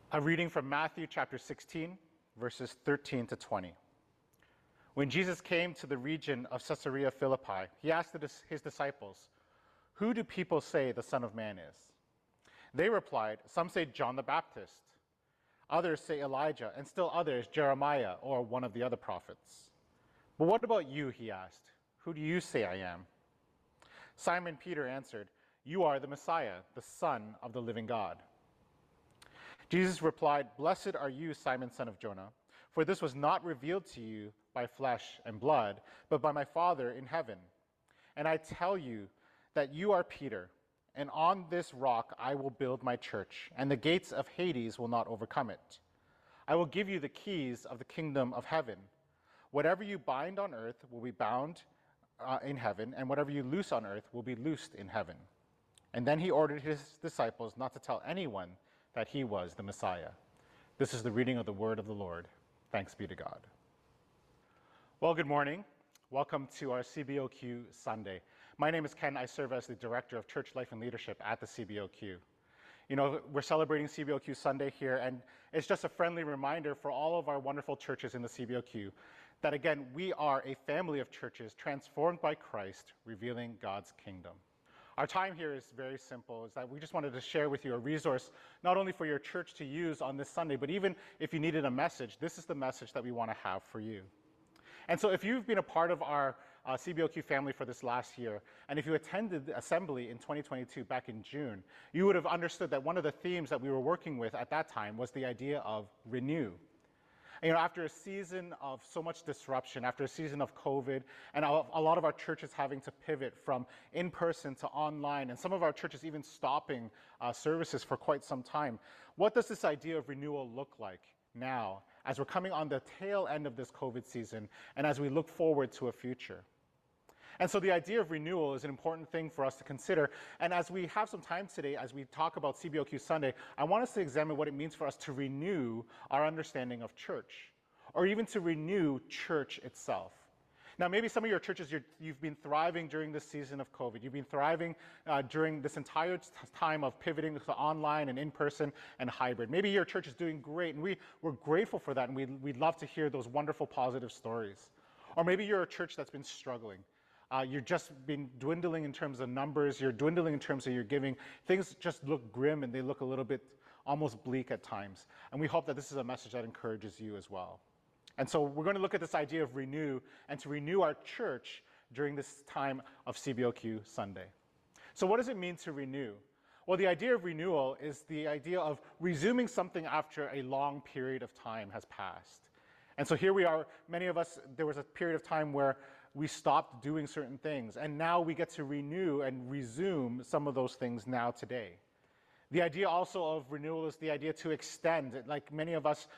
A reading from Matthew chapter 16, verses 13 to 20. When Jesus came to the region of Caesarea Philippi, he asked his disciples, "Who do people say the Son of Man is?" They replied, "Some say John the Baptist, others say Elijah, and still others Jeremiah or one of the other prophets." "But what about you?" he asked. "Who do you say I am?" Simon Peter answered, "You are the Messiah, the Son of the living God." Jesus replied, "Blessed are you, Simon, son of Jonah, for this was not revealed to you by flesh and blood, but by my Father in heaven. And I tell you that you are Peter, and on this rock I will build my church, and the gates of Hades will not overcome it. I will give you the keys of the kingdom of heaven. Whatever you bind on earth will be bound in heaven, and whatever you loose on earth will be loosed in heaven." And then he ordered his disciples not to tell anyone that he was the Messiah. This is the reading of the word of the Lord. Thanks be to God. Well, good morning. Welcome to our CBOQ Sunday. My name is Ken. I serve as the Director of Church Life and Leadership at the CBOQ. You know, we're celebrating CBOQ Sunday here, and it's just a friendly reminder for all of our wonderful churches in the CBOQ that, again, we are a family of churches transformed by Christ, revealing God's kingdom. Our time here is very simple, is that we just wanted to share with you a resource, not only for your church to use on this Sunday, but even if you needed a message, this is the message that we want to have for you. And so if you've been a part of our CBOQ family for this last year, and if you attended Assembly in 2022 back in June, you would have understood that one of the themes that we were working with at that time was the idea of renew. You know, after a season of so much disruption, after a season of COVID, and a lot of our churches having to pivot from in-person to online, and some of our churches even stopping services for quite some time, what does this idea of renewal look like now as we're coming on the tail end of this COVID season and as we look forward to a future? And so the idea of renewal is an important thing for us to consider. And as we have some time today, as we talk about CBOQ Sunday, I want us to examine what it means for us to renew our understanding of church, or even to renew church itself. Now, maybe some of your churches, you've been thriving during this season of COVID. You've been thriving during this entire time of pivoting to online and in-person and hybrid. Maybe your church is doing great, and we're grateful for that, and we'd love to hear those wonderful, positive stories. Or maybe you're a church that's been struggling. You're just been dwindling in terms of numbers, you're dwindling in terms of your giving. Things just look grim and they look a little bit almost bleak at times. And we hope that this is a message that encourages you as well. And so we're going to look at this idea of renew and to renew our church during this time of CBOQ Sunday. So what does it mean to renew? Well, the idea of renewal is the idea of resuming something after a long period of time has passed. And so here we are, many of us, there was a period of time where we stopped doing certain things, and now we get to renew and resume some of those things now today. The idea also of renewal is the idea to extend. Like many of us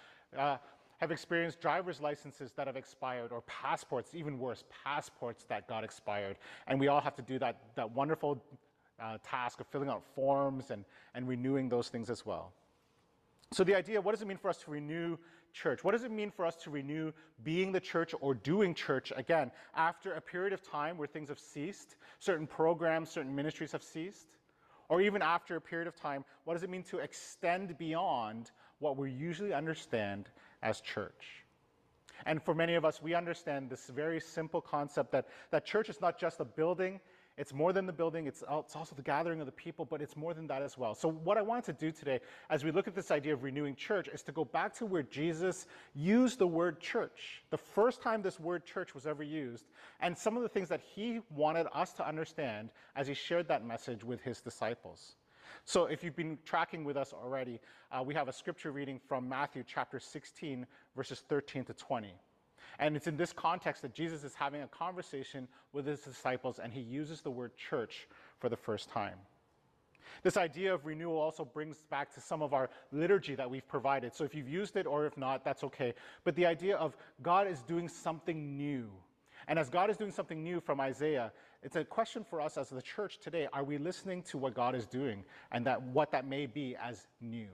have experienced driver's licenses that have expired, or passports, even worse, passports that got expired. And we all have to do that wonderful task of filling out forms and renewing those things as well. So the idea, what does it mean for us to renew church? What does it mean for us to renew being the church or doing church again after a period of time where things have ceased, certain programs, certain ministries have ceased? Or even after a period of time, what does it mean to extend beyond what we usually understand as church? And for many of us, we understand this very simple concept that church is not just a building. It's more than the building, it's also the gathering of the people, but it's more than that as well. So what I want to do today, as we look at this idea of renewing church, is to go back to where Jesus used the word church, the first time this word church was ever used, and some of the things that he wanted us to understand as he shared that message with his disciples. So if you've been tracking with us already, we have a scripture reading from Matthew chapter 16, verses 13 to 20. And it's in this context that Jesus is having a conversation with his disciples, and he uses the word church for the first time. This idea of renewal also brings back to some of our liturgy that we've provided. So if you've used it or if not, that's okay. But the idea of God is doing something new. And as God is doing something new from Isaiah, it's a question for us as the church today. Are we listening to what God is doing and what that may be as new?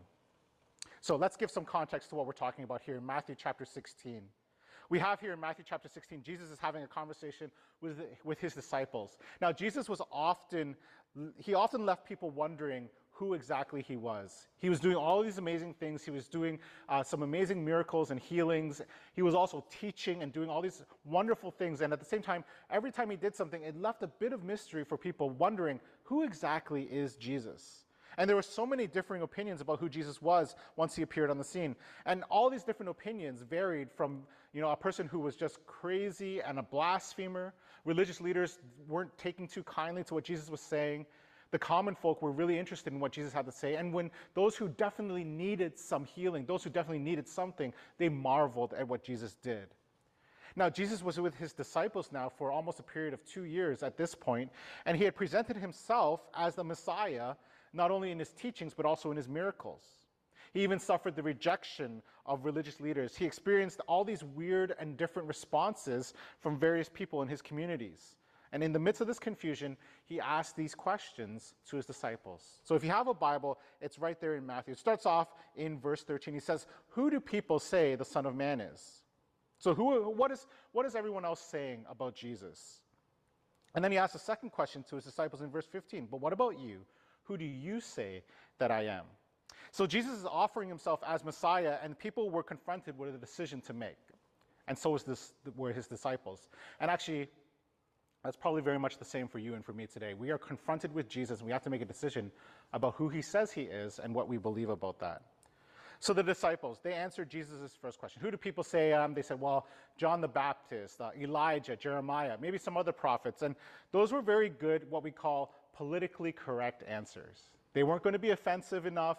So let's give some context to what we're talking about here in Matthew chapter 16. We have here in Matthew chapter 16, Jesus is having a conversation with his disciples. Now, Jesus often left people wondering, who exactly he was. He was doing all these amazing things. He was doing some amazing miracles and healings. He was also teaching and doing all these wonderful things. And at the same time, every time he did something, it left a bit of mystery for people wondering, who exactly is Jesus? And there were so many differing opinions about who Jesus was once he appeared on the scene. And all these different opinions varied from, a person who was just crazy and a blasphemer. Religious leaders weren't taking too kindly to what Jesus was saying. The common folk were really interested in what Jesus had to say. And when those who definitely needed some healing, those who definitely needed something, they marveled at what Jesus did. Now, Jesus was with his disciples now for almost a period of 2 years at this point, and he had presented himself as the Messiah, not only in his teachings, but also in his miracles. He even suffered the rejection of religious leaders. He experienced all these weird and different responses from various people in his communities. And in the midst of this confusion, he asked these questions to his disciples. So if you have a Bible, it's right there in Matthew. It starts off in verse 13. He says, "Who do people say the Son of Man is?" So what is everyone else saying about Jesus? And then he asks a second question to his disciples in verse 15. "But what about you? Who do you say that I am?" So Jesus is offering himself as Messiah, and people were confronted with a decision to make. And so were his disciples. And actually, that's probably very much the same for you and for me today. We are confronted with Jesus, and we have to make a decision about who he says he is and what we believe about that. So the disciples, they answered Jesus' first question. Who do people say I am? They said, well, John the Baptist, Elijah, Jeremiah, maybe some other prophets. And those were very good, what we call politically correct answers. They weren't going to be offensive enough,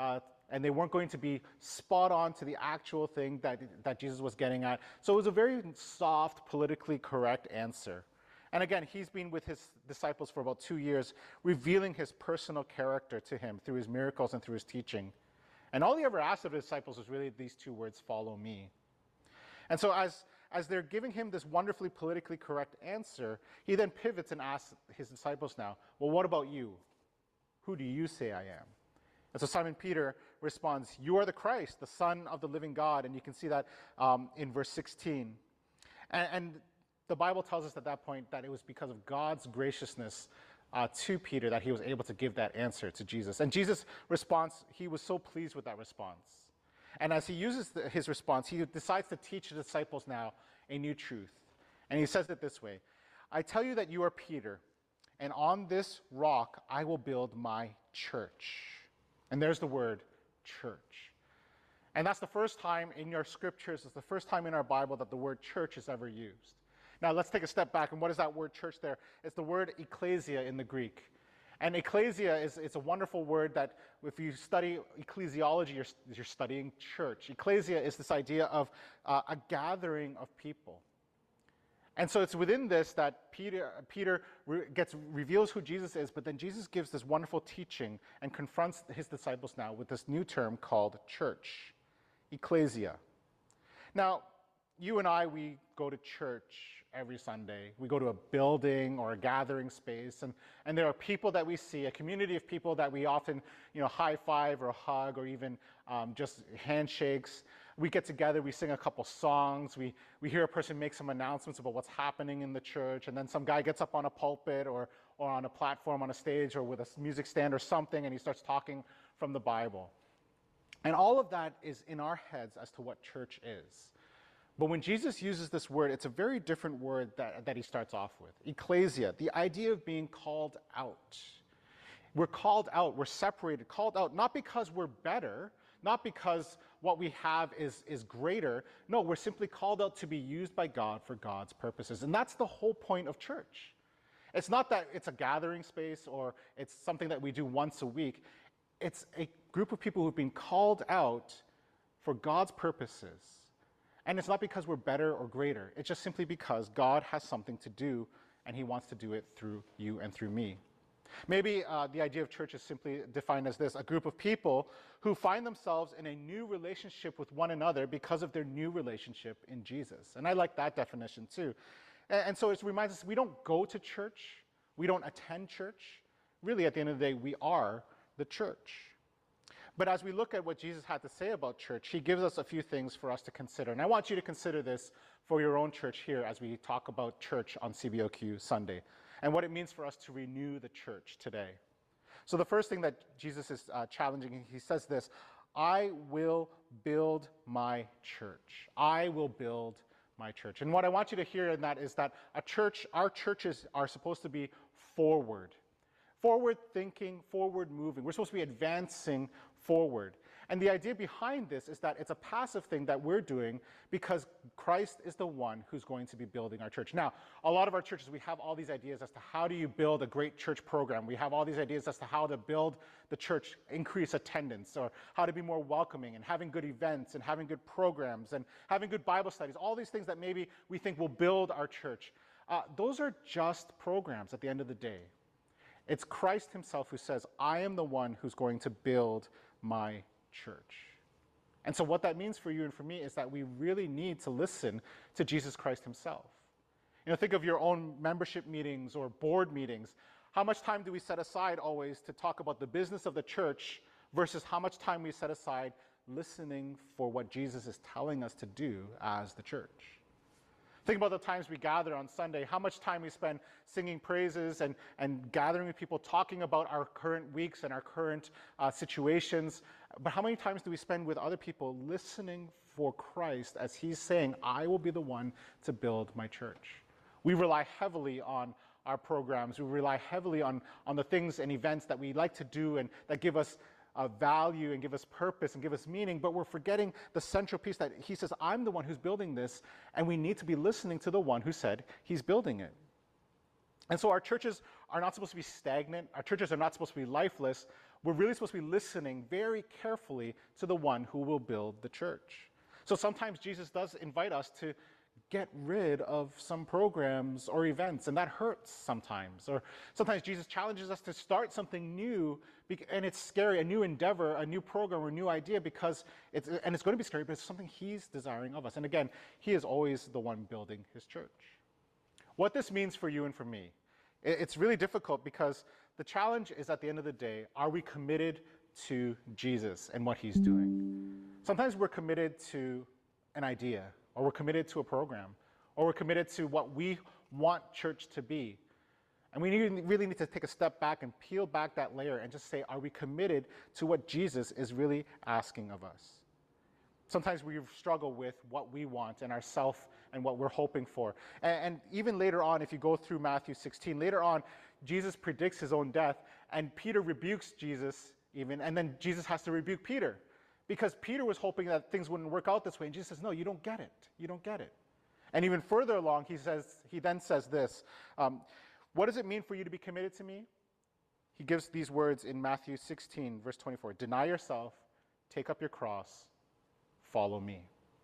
and they weren't going to be spot on to the actual thing that Jesus was getting at. So it was a very soft, politically correct answer. And again, he's been with his disciples for about 2 years, revealing his personal character to him through his miracles and through his teaching. And all he ever asked of his disciples was really these 2 words, "Follow me." And so as they're giving him this wonderfully politically correct answer, he then pivots and asks his disciples now, "Well, what about you? Who do you say I am?" And so Simon Peter responds, "You are the Christ, the Son of the living God." And you can see that in verse 16. And the Bible tells us at that point that it was because of God's graciousness to Peter that he was able to give that answer to Jesus. And Jesus' response, he was so pleased with that response. And as he uses his response, he decides to teach the disciples now a new truth. And he says it this way, "I tell you that you are Peter, and on this rock I will build my church." And there's the word church. And that's the first time in your scriptures, it's the first time in our Bible that the word church is ever used. Now let's take a step back, and what is that word church there? It's the word ecclesia in the Greek. And ecclesia it's a wonderful word that if you study ecclesiology, you're studying church. Ecclesia is this idea of a gathering of people. And so it's within this that Peter reveals who Jesus is, but then Jesus gives this wonderful teaching and confronts his disciples now with this new term called church, ecclesia. Now, you and I, we go to church every Sunday. We go to a building or a gathering space, and there are people that we see, a community of people that we often, high five or hug or even just handshakes. We get together, we sing a couple songs, we hear a person make some announcements about what's happening in the church, and then some guy gets up on a pulpit or on a platform on a stage or with a music stand or something, and he starts talking from the Bible. And all of that is in our heads as to what church is. But when Jesus uses this word, it's a very different word that he starts off with. Ecclesia, the idea of being called out. We're called out, we're separated, called out, not because we're better, not because what we have is greater. No, we're simply called out to be used by God for God's purposes. And that's the whole point of church. It's not that it's a gathering space or it's something that we do once a week. It's a group of people who've been called out for God's purposes. And it's not because we're better or greater. It's just simply because God has something to do, and he wants to do it through you and through me. Maybe the idea of church is simply defined as this, a group of people who find themselves in a new relationship with one another because of their new relationship in Jesus. And I like that definition too. And so it reminds us we don't go to church, we don't attend church. Really, at the end of the day, we are the church. But as we look at what Jesus had to say about church, he gives us a few things for us to consider. And I want you to consider this for your own church here as we talk about church on CBOQ Sunday and what it means for us to renew the church today. So the first thing that Jesus is challenging, he says this, I will build my church. I will build my church. And what I want you to hear in that is that our churches are supposed to be forward thinking, forward moving. We're supposed to be advancing forward. And the idea behind this is that it's a passive thing that we're doing because Christ is the one who's going to be building our church. Now, a lot of our churches, we have all these ideas as to how do you build a great church program. We have all these ideas as to how to build the church, increase attendance, or how to be more welcoming, and having good events, and having good programs, and having good Bible studies, all these things that maybe we think will build our church. Those are just programs at the end of the day. It's Christ himself who says, I am the one who's going to build my church. And so what that means for you and for me is that we really need to listen to Jesus Christ himself. You know, think of your own membership meetings or board meetings. How much time do we set aside always to talk about the business of the church versus how much time we set aside listening for what Jesus is telling us to do as the church? Think about the times we gather on Sunday, how much time we spend singing praises and gathering with people, talking about our current weeks and our current situations. But how many times do we spend with other people listening for Christ as he's saying, I will be the one to build my church? We rely heavily on our programs. We rely heavily on the things and events that we like to do and that give us value and give us purpose and give us meaning, but we're forgetting the central piece that he says, I'm the one who's building this, and we need to be listening to the one who said he's building it. And so our churches are not supposed to be stagnant. Our churches are not supposed to be lifeless. We're really supposed to be listening very carefully to the one who will build the church. So sometimes Jesus does invite us to get rid of some programs or events, and that hurts sometimes. Or sometimes Jesus challenges us to start something new, and it's scary, a new endeavor, a new program, or a new idea, because it's going to be scary, but it's something he's desiring of us. And again, he is always the one building his church. What this means for you and for me, it's really difficult because the challenge is, at the end of the day, are we committed to Jesus and what he's doing? Sometimes we're committed to an idea, or we're committed to a program, or we're committed to what we want church to be. And we really need to take a step back and peel back that layer and just say, are we committed to what Jesus is really asking of us? Sometimes we struggle with what we want and ourself and what we're hoping for. And even later on, if you go through Matthew 16, later on, Jesus predicts his own death, and Peter rebukes Jesus even, and then Jesus has to rebuke Peter. Because Peter was hoping that things wouldn't work out this way. And Jesus says, no, you don't get it. You don't get it. And even further along, he then says this, what does it mean for you to be committed to me? He gives these words in Matthew 16, verse 24. Deny yourself, take up your cross, follow me.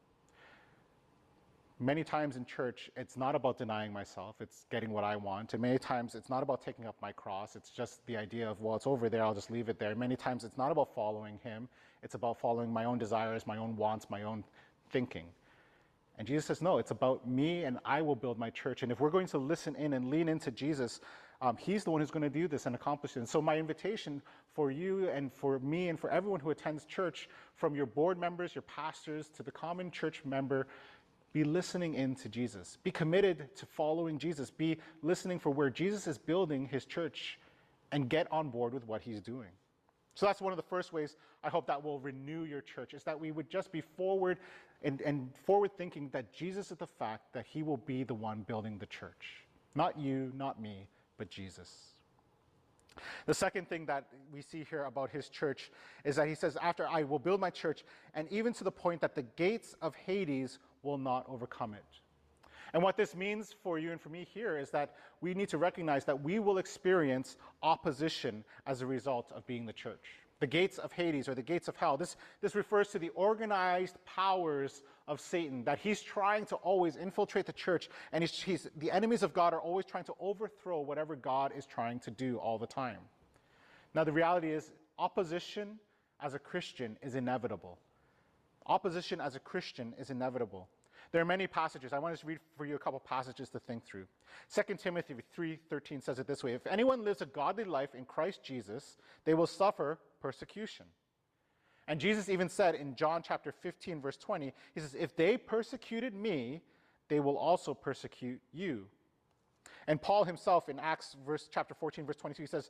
Many times in church, it's not about denying myself, it's getting what I want. And many times it's not about taking up my cross, it's just the idea of, well, it's over there, I'll just leave it there. Many times it's not about following him, it's about following my own desires, my own wants, my own thinking. And Jesus says, no, it's about me, and I will build my church. And if we're going to listen in and lean into Jesus, he's the one who's going to do this and accomplish it. And so my invitation for you and for me and for everyone who attends church, from your board members, your pastors, to the common church member, be listening in to Jesus. Be committed to following Jesus. Be listening for where Jesus is building his church, and get on board with what he's doing. So that's one of the first ways I hope that will renew your church, is that we would just be forward and forward thinking that Jesus is the fact that he will be the one building the church. Not you, not me, but Jesus. The second thing that we see here about his church is that he says, after I will build my church, and even to the point that the gates of Hades will not overcome it. And what this means for you and for me here is that we need to recognize that we will experience opposition as a result of being the church. The gates of Hades, or the gates of hell, this refers to the organized powers of Satan, that he's trying to always infiltrate the church, and the enemies of God are always trying to overthrow whatever God is trying to do all the time. Now, the reality is, opposition as a Christian is inevitable. Opposition as a Christian is inevitable. There are many passages. I want to read for you a couple passages to think through. 2 Timothy 3:13 says it this way: if anyone lives a godly life in Christ Jesus, they will suffer persecution. And Jesus even said in John chapter 15, verse 20, he says, if they persecuted me, they will also persecute you. And Paul himself in Acts chapter 14, verse 22, he says,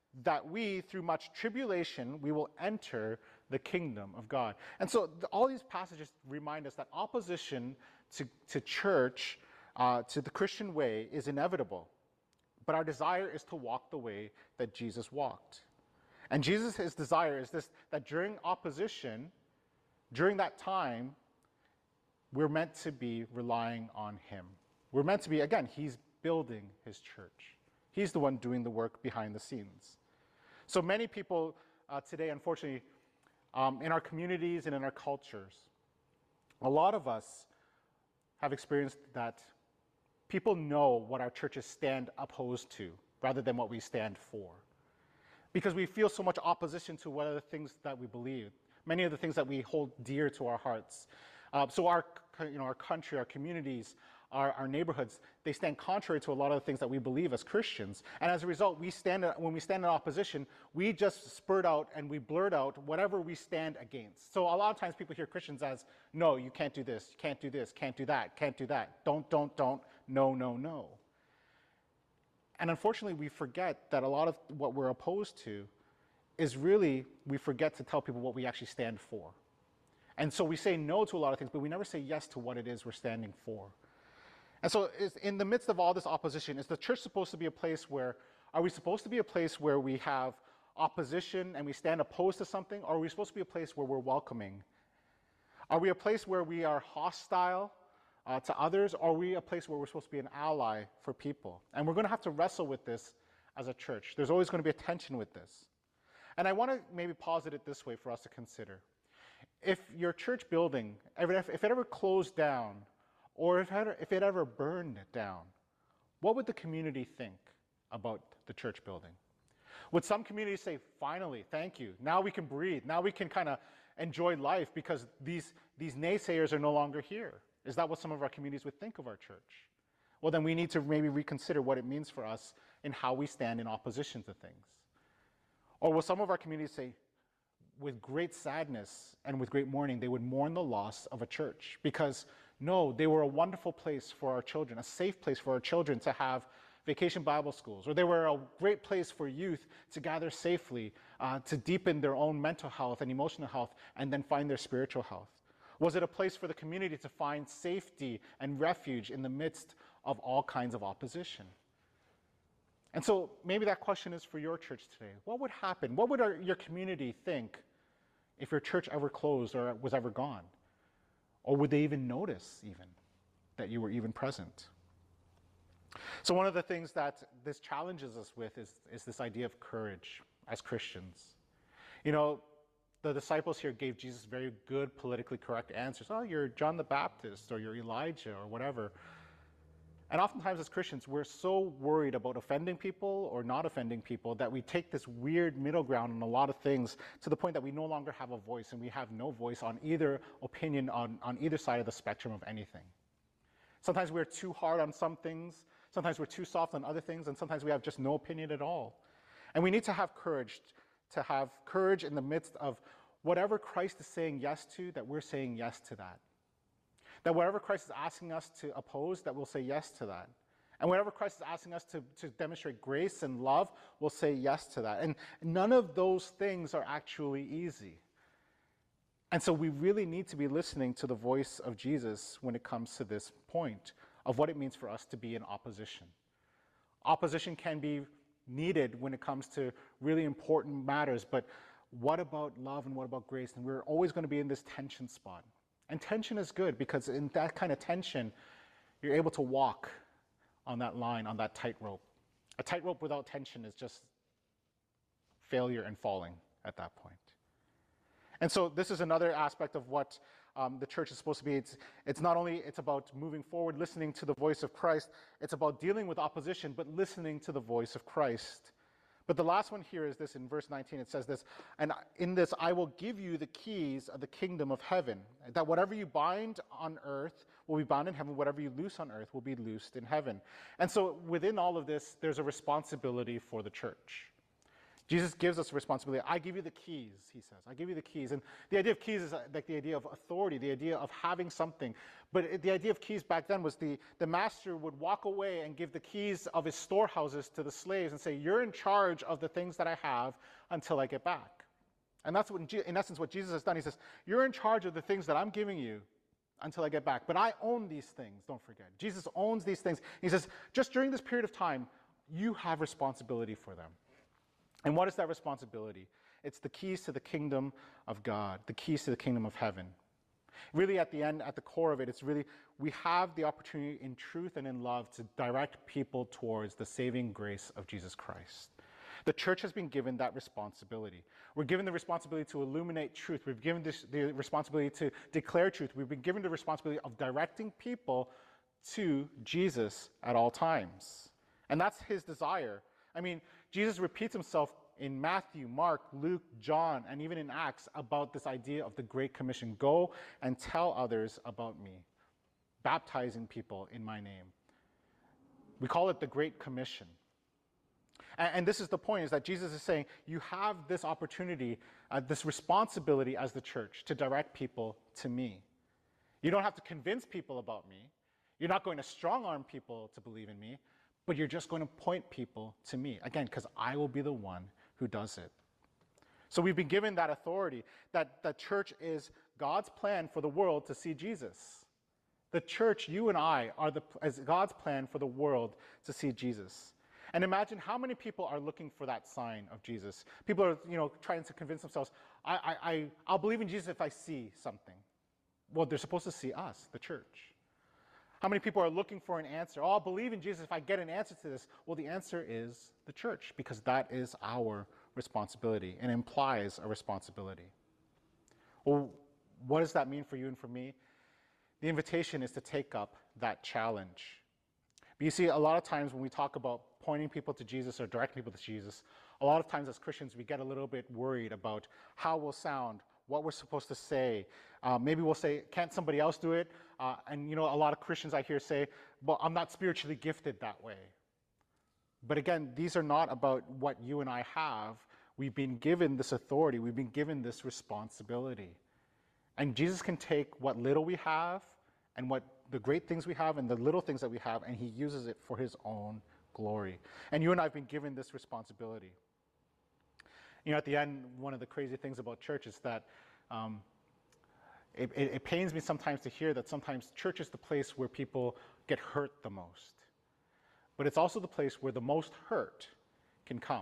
that we, through much tribulation, we will enter the kingdom of God. And so all these passages remind us that opposition to church, to the Christian way, is inevitable. But our desire is to walk the way that Jesus walked. And Jesus' desire is this, that during opposition, during that time, we're meant to be relying on him. We're meant to be, again, he's building his church. He's the one doing the work behind the scenes. So many people today, unfortunately, in our communities and in our cultures, a lot of us have experienced that people know what our churches stand opposed to rather than what we stand for. Because we feel so much opposition to what are the things that we believe, many of the things that we hold dear to our hearts. So our country, our communities, our neighborhoods, they stand contrary to a lot of the things that we believe as Christians. And as a result, when we stand in opposition, we just spurt out and we blurt out whatever we stand against. So a lot of times people hear Christians as, no, you can't do this, you can't do this, can't do that, can't do that, don't, no, no, no. And unfortunately, we forget that a lot of what we're opposed to is really, we forget to tell people what we actually stand for. And so we say no to a lot of things, but we never say yes to what it is we're standing for. And so in the midst of all this opposition, is the church supposed to be a place where, are we supposed to be a place where we have opposition and we stand opposed to something, or are we supposed to be a place where we're welcoming? Are we a place where we are hostile to others, or are we a place where we're supposed to be an ally for people? And we're going to have to wrestle with this as a church. There's always going to be a tension with this. And I want to maybe posit it this way for us to consider. If your church building, if it ever closed down, or if it ever burned down, what would the community think about the church building? Would some communities say, finally, thank you, now we can breathe, now we can kind of enjoy life because these naysayers are no longer here? Is that what some of our communities would think of our church? Well, then we need to maybe reconsider what it means for us in how we stand in opposition to things. Or will some of our communities say, with great sadness and with great mourning, they would mourn the loss of a church? Because no, they were a wonderful place for our children, a safe place for our children to have vacation Bible schools, or they were a great place for youth to gather safely, to deepen their own mental health and emotional health, and then find their spiritual health. Was it a place for the community to find safety and refuge in the midst of all kinds of opposition? And so maybe that question is for your church today. What would happen? What would your community think if your church ever closed or was ever gone? Or would they even notice even that you were even present? So one of the things that this challenges us with is this idea of courage as Christians. You know, the disciples here gave Jesus very good politically correct answers. Oh, you're John the Baptist, or you're Elijah, or whatever. And oftentimes as Christians, we're so worried about offending people or not offending people that we take this weird middle ground on a lot of things to the point that we no longer have a voice, and we have no voice on either opinion on either side of the spectrum of anything. Sometimes we're too hard on some things, sometimes we're too soft on other things, and sometimes we have just no opinion at all. And we need to have courage in the midst of whatever Christ is saying yes to, that we're saying yes to that. That whatever Christ is asking us to oppose, that we'll say yes to that. And whatever Christ is asking us to demonstrate grace and love, we'll say yes to that. And none of those things are actually easy. And so we really need to be listening to the voice of Jesus when it comes to this point of what it means for us to be in opposition. Opposition can be needed when it comes to really important matters, but what about love and what about grace? And we're always going to be in this tension spot. And tension is good because in that kind of tension, you're able to walk on that line, on that tightrope. A tightrope without tension is just failure and falling at that point. And so this is another aspect of what the church is supposed to be. It's not only it's about moving forward, listening to the voice of Christ, it's about dealing with opposition, but listening to the voice of Christ. But the last one here is this, in verse 19, it says this, and in this I will give you the keys of the kingdom of heaven, that whatever you bind on earth will be bound in heaven, whatever you loose on earth will be loosed in heaven. And so within all of this, there's a responsibility for the church. Jesus gives us a responsibility. I give you the keys, he says. I give you the keys. And the idea of keys is like the idea of authority, the idea of having something. But the idea of keys back then was the master would walk away and give the keys of his storehouses to the slaves and say, you're in charge of the things that I have until I get back. And that's what, in essence, what Jesus has done. He says, you're in charge of the things that I'm giving you until I get back. But I own these things, don't forget. Jesus owns these things. He says, just during this period of time, you have responsibility for them. And what is that responsibility? It's the keys to the kingdom of God, the keys to the kingdom of heaven. Really, at the end, at the core of it, it's really, we have the opportunity in truth and in love to direct people towards the saving grace of Jesus Christ. The church has been given that responsibility. We're given the responsibility to illuminate truth. We've given the responsibility to declare truth. We've been given the responsibility of directing people to Jesus at all times. And that's his desire. I mean, Jesus repeats himself in Matthew, Mark, Luke, John, and even in Acts about this idea of the Great Commission. Go and tell others about me, baptizing people in my name. We call it the Great Commission. And this is the point, is that Jesus is saying, you have this opportunity, this responsibility as the church to direct people to me. You don't have to convince people about me. You're not going to strong-arm people to believe in me, but you're just going to point people to me. Again, because I will be the one who does it. So we've been given that authority, that the church is God's plan for the world to see Jesus. The church, you and I, is God's plan for the world to see Jesus. And imagine how many people are looking for that sign of Jesus. People are, trying to convince themselves, I'll believe in Jesus if I see something. Well, they're supposed to see us, the church. How many people are looking for an answer? Oh, I'll believe in Jesus if I get an answer to this. Well, the answer is the church, because that is our responsibility and implies a responsibility. Well, what does that mean for you and for me? The invitation is to take up that challenge. But you see, a lot of times when we talk about pointing people to Jesus or directing people to Jesus, a lot of times as Christians, we get a little bit worried about how we'll sound, what we're supposed to say. Maybe we'll say, can't somebody else do it? And a lot of Christians I hear say, well, I'm not spiritually gifted that way. But again, these are not about what you and I have. We've been given this authority. We've been given this responsibility. And Jesus can take what little we have and what the great things we have and the little things that we have, and he uses it for his own glory. And you and I have been given this responsibility. At the end, one of the crazy things about church is that it pains me sometimes to hear that sometimes church is the place where people get hurt the most. But it's also the place where the most hurt can come.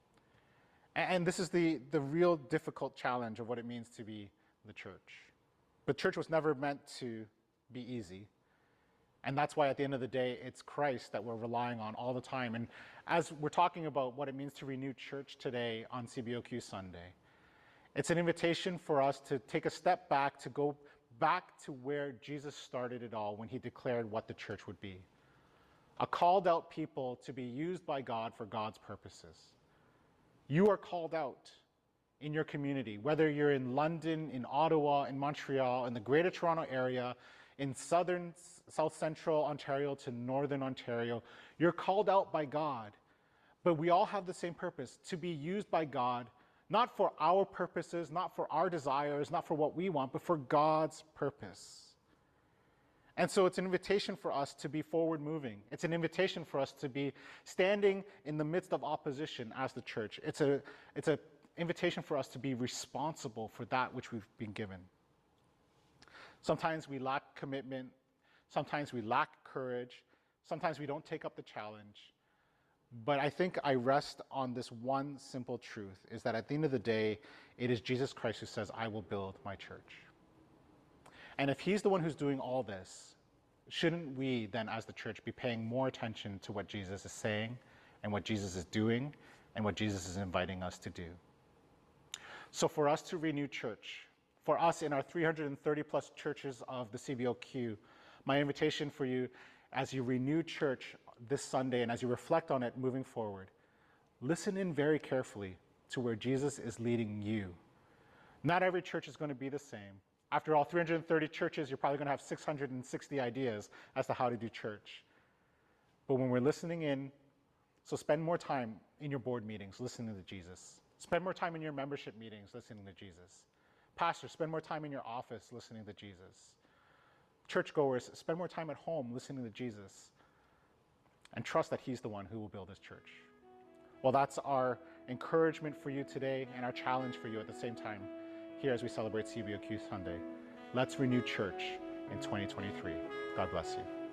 And this is the real difficult challenge of what it means to be the church. But church was never meant to be easy. And that's why at the end of the day, it's Christ that we're relying on all the time. And as we're talking about what it means to renew church today on CBOQ Sunday, it's an invitation for us to take a step back, to go back to where Jesus started it all when he declared what the church would be. A called out people to be used by God for God's purposes. You are called out in your community, whether you're in London, in Ottawa, in Montreal, in the Greater Toronto area, in South Central Ontario to Northern Ontario. You're called out by God, but we all have the same purpose, to be used by God, not for our purposes, not for our desires, not for what we want, but for God's purpose. And so it's an invitation for us to be forward moving. It's an invitation for us to be standing in the midst of opposition as the church. It's an invitation for us to be responsible for that which we've been given. Sometimes we lack commitment. Sometimes we lack courage. Sometimes we don't take up the challenge. But I think I rest on this one simple truth, is that at the end of the day, it is Jesus Christ who says, I will build my church. And if he's the one who's doing all this, shouldn't we then as the church be paying more attention to what Jesus is saying and what Jesus is doing and what Jesus is inviting us to do? So for us to renew church, for us in our 330 plus churches of the CBOQ, my invitation for you as you renew church this Sunday and as you reflect on it moving forward, listen in very carefully to where Jesus is leading you. Not every church is going to be the same. After all 330 churches, you're probably going to have 660 ideas as to how to do church. But when we're listening in, So spend more time in your board meetings listening to Jesus. Spend more time in your membership meetings listening to Jesus. Pastors, spend more time in your office listening to Jesus. Churchgoers, spend more time at home listening to Jesus, and trust that he's the one who will build his church. Well, that's our encouragement for you today and our challenge for you at the same time here as we celebrate CBOQ Sunday. Let's renew church in 2023. God bless you.